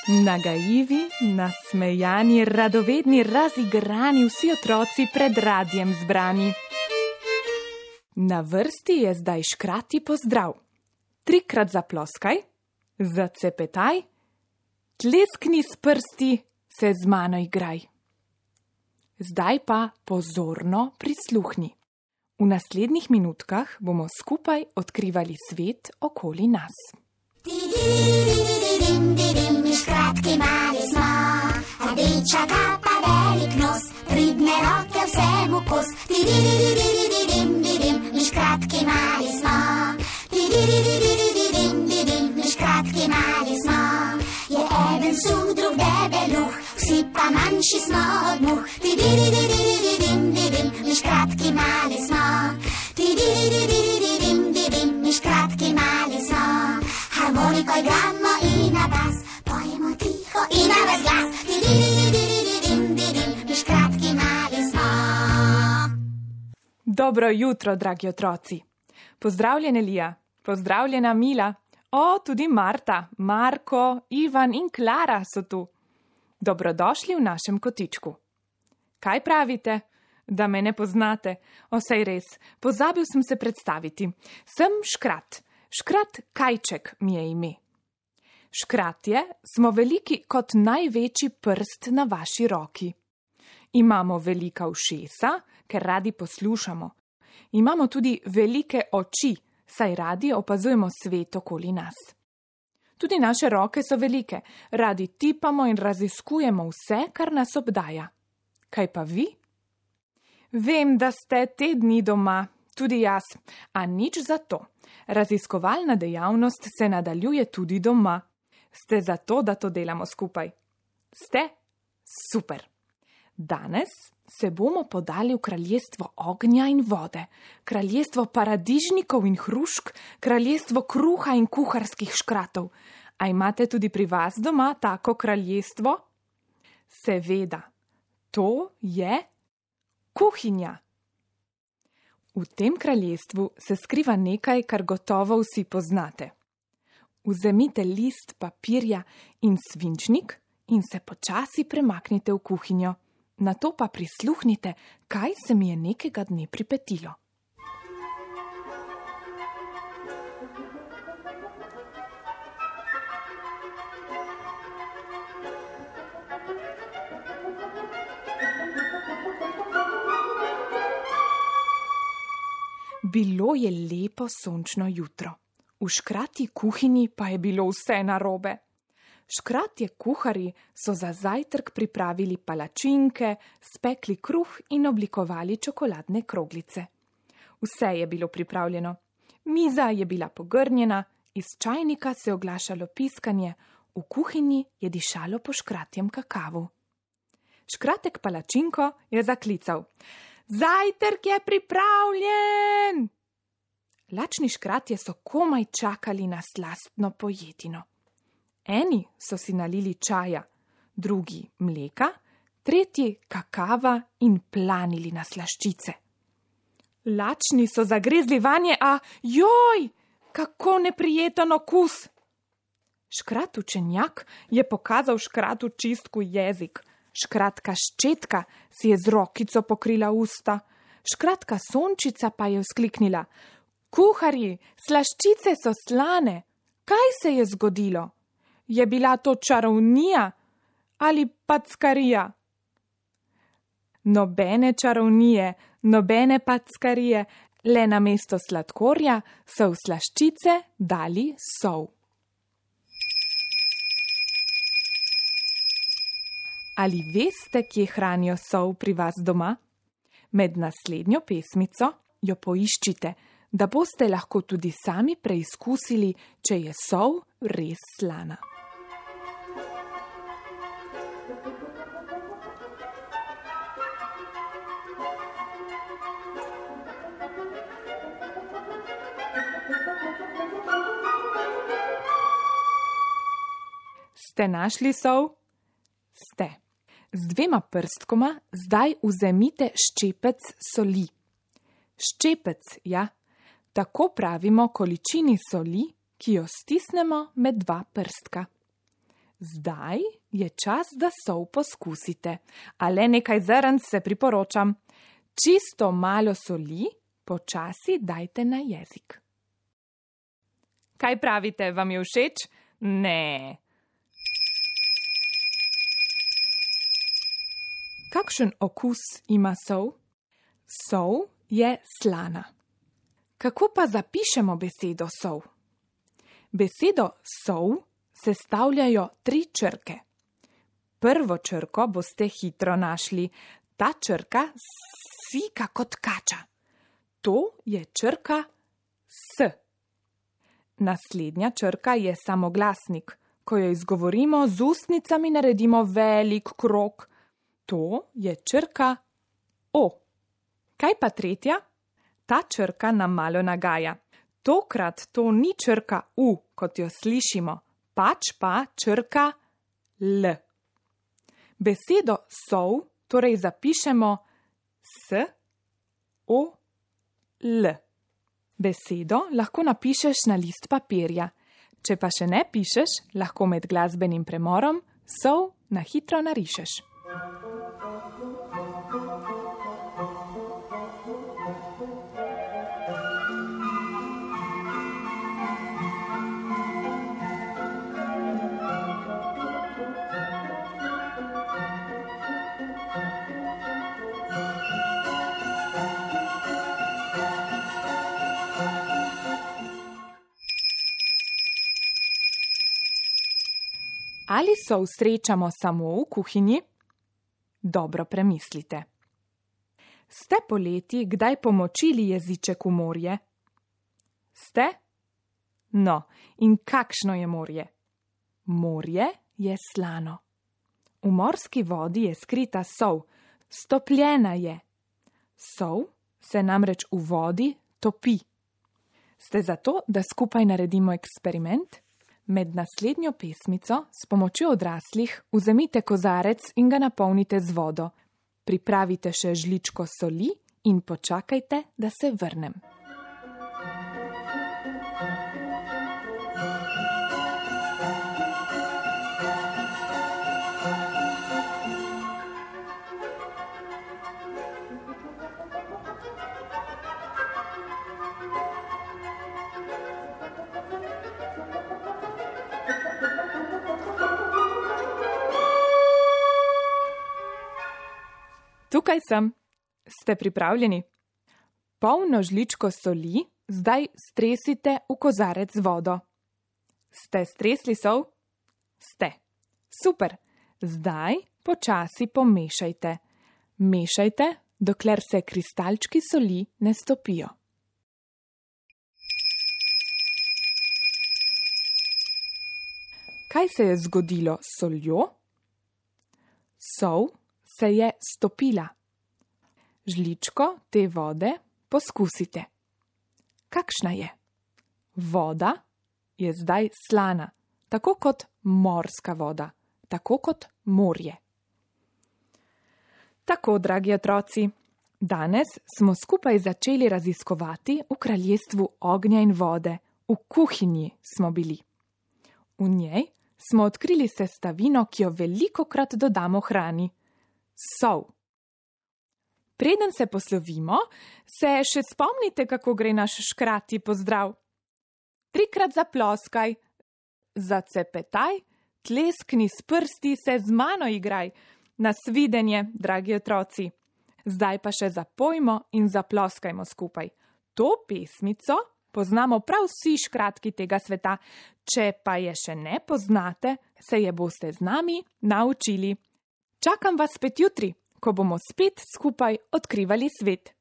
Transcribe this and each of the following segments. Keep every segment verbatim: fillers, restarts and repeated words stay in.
Nagajivi, nasmejani, radovedni, razigrani, vsi otroci pred radiem zbrani. Na vrsti je zdaj škrati pozdrav. Trikrat zaploskaj, zacepetaj, tleskni s prsti, se z mano igraj. Zdaj pa pozorno prisluhni. V naslednjih minutkah bomo skupaj odkrivali svet okoli nas. Mi škratki mali smo, rdeča kapa, velik nos, pridne roke vsemu kos. Mi škratki mali smo, mi škratki mali smo. Je eden suh, drug debeluh, vsi pa manjši smo od muh. Mi škratki mali smo, mi škratki mali smo. Harmoniko igramo in na bas, pojemo tiho in na ves glas. Mi škratki mali smo. Dobro jutro, dragi otroci. Pozdravljene Lija, pozdravljena Mila. O, tudi Marta, Marko, Ivan in Klara so tu. Dobrodošli v našem kotičku. Kaj pravite? Da me ne poznate? O, saj res, pozabil sem se predstaviti. Sem Škrat. Škrat Kajček mi je ime. Škratje smo veliki kot največji prst na vaši roki. Imamo velika ušesa, ker radi poslušamo. Imamo tudi velike oči, saj radi opazujemo svet okoli nas. Tudi naše roke so velike, radi tipamo in raziskujemo vse, kar nas obdaja. Kaj pa vi? Vem, da ste te dni doma, tudi jaz, a nič za to. Raziskovalna dejavnost se nadaljuje tudi doma. Ste za to, da to delamo skupaj? Ste? Super! Danes se bomo podali v kraljestvo ognja in vode, kraljestvo paradižnikov in hrušk, kraljestvo kruha in kuharskih škratov. A imate tudi pri vas doma tako kraljestvo? Seveda, to je kuhinja. V tem kraljestvu se skriva nekaj, kar gotovo vsi poznate. Vzemite list papirja in svinčnik in se počasi premaknite v kuhinjo. Nato pa prisluhnite, kaj se mi je nekega dne pripetilo. Bilo je lepo sončno jutro. V škratji kuhinji pa je bilo vse narobe. Škratje kuharji so za zajtrk pripravili palačinke, spekli kruh in oblikovali čokoladne kroglice. Vse je bilo pripravljeno. Miza je bila pogrnjena, iz čajnika se je oglašalo piskanje, v kuhinji je dišalo po škratjem kakavu. Škratek palačinko je zaklical: Zajtrk je pripravljen! Lačni škratje so komaj čakali na slastno pojedino. Eni so si nalili čaja, drugi mleka, tretji kakava in planili na slaščice. Lačni so zagrezli vanje, a joj, kako neprijeten okus! Škrat učenjak je pokazal škratu čistku jezik. Škratka ščetka si je z rokico pokrila usta. Škratka sončica pa je vzkliknila: Kuharji, slaščice so slane. Kaj se je zgodilo? Je bila to čarovnija ali packarija? Nobene čarovnije, nobene packarije, le namesto sladkorja so v slaščice dali sol. Ali veste, kje hranijo sol pri vas doma? Med naslednjo pesmico jo poiščite, da boste lahko tudi sami preizkusili, če je sol res slana. Ste našli sol? Ste. Z dvema prstkoma zdaj vzemite ščepec soli. Ščepec, ja, tako pravimo količini soli, ki jo stisnemo med dva prstka. Zdaj je čas, da sol poskusite. A le nekaj zrnc se priporočam. Čisto malo soli, počasi dajte na jezik. Kaj pravite, vam je všeč? Ne. Kakšen okus ima sol? Sol je slana. Kako pa zapišemo besedo sol? Besedo sol sestavljajo tri črke. Prvo črko boste hitro našli. Ta črka sika kot kača. To je črka S. Naslednja črka je samoglasnik. Ko jo izgovorimo, z ustnicami naredimo velik krog. To je črka O. Kaj pa tretja? Ta črka nam malo nagaja. Tokrat to ni črka U, kot jo slišimo, pač pa črka L. Besedo sol torej zapišemo S, O, L. Besedo lahko napišeš na list papirja. Če pa še ne pišeš, lahko med glasbenim premorom sol na hitro narišeš. Ali sol srečamo samo v kuhinji? Dobro premislite. Ste poleti kdaj pomočili jeziček v morje? Ste? No, in kakšno je morje? Morje je slano. V morski vodi je skrita sol, stopljena je. Sol se namreč v vodi topi. Ste za to, da skupaj naredimo eksperiment? Med naslednjo pesmico s pomočjo odraslih vzemite kozarec in ga napolnite z vodo. Pripravite še žličko soli in počakajte, da se vrnem. Tukaj sem. Ste pripravljeni? Polno žličko soli zdaj stresite v kozarec z vodo. Ste stresli sol? Ste. Super. Zdaj počasi pomešajte. Mešajte, dokler se kristalčki soli ne stopijo. Kaj se je zgodilo s soljo? Sol se je stopila. Žličko te vode poskusite. Kakšna je? Voda je zdaj slana, tako kot morska voda, tako kot morje. Tako, dragi otroci, danes smo skupaj začeli raziskovati v kraljestvu ognja in vode, v kuhinji smo bili. V njej smo odkrili sestavino, ki jo velikokrat dodamo hrani. Sol. Preden se poslovimo, se še spomnite, kako gre naš škrati pozdrav. Trikrat zaploskaj, zacepetaj, tleskni s prsti, se z mano igraj. Nasvidenje, dragi otroci. Zdaj pa še zapojmo in zaploskajmo skupaj. To pesmico poznamo prav vsi škratki tega sveta. Če pa je še ne poznate, se je boste z nami naučili. Čakam vas spet jutri, ko bomo spet skupaj odkrivali svet.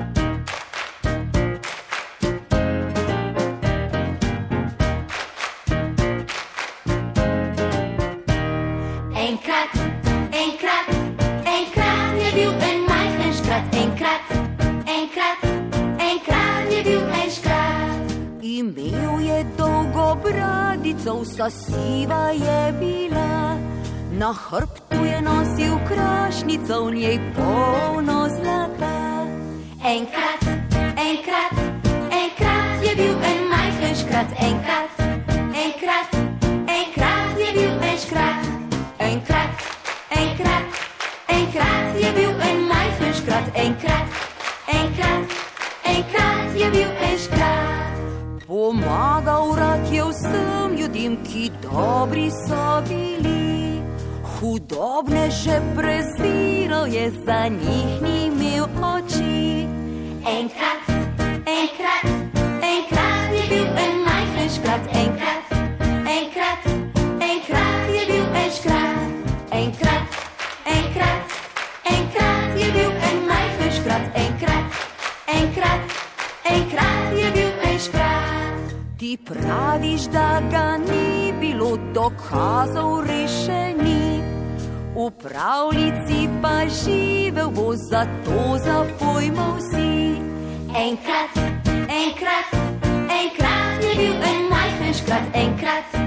Enkrat, enkrat, enkrat je bil en majhen škrat. Enkrat, enkrat, enkrat je bil en škrat. Imel je dolgo bradico, vsa siva je bila. Na hrbtu je nosil krašnico, v njej polno zlata. Enkrat, enkrat, enkrat je bil en majhen škrat. Enkrat, enkrat, enkrat je bil en škrat. enkrat, enkrat, enkrat je bil en škrat. Pomagal rad je vsem ljudem, ki dobri so bili. Hudobne že preziral je, za njih ni imel oči. Enkrat, enkrat, enkrat je bil en majhen škrat. Enkrat, enkrat, enkrat je bil en škrat. Enkrat, enkrat, enkrat je bil en majhen škrat. Enkrat, enkrat, enkrat je bil en škrat. Ti praviš, da ga ni bilo, dokazov rešeni. V pravljici pa živel bo, zato zapojmo vsi. Enkrat, enkrat, enkrat je bil en majhen škrat. Enkrat,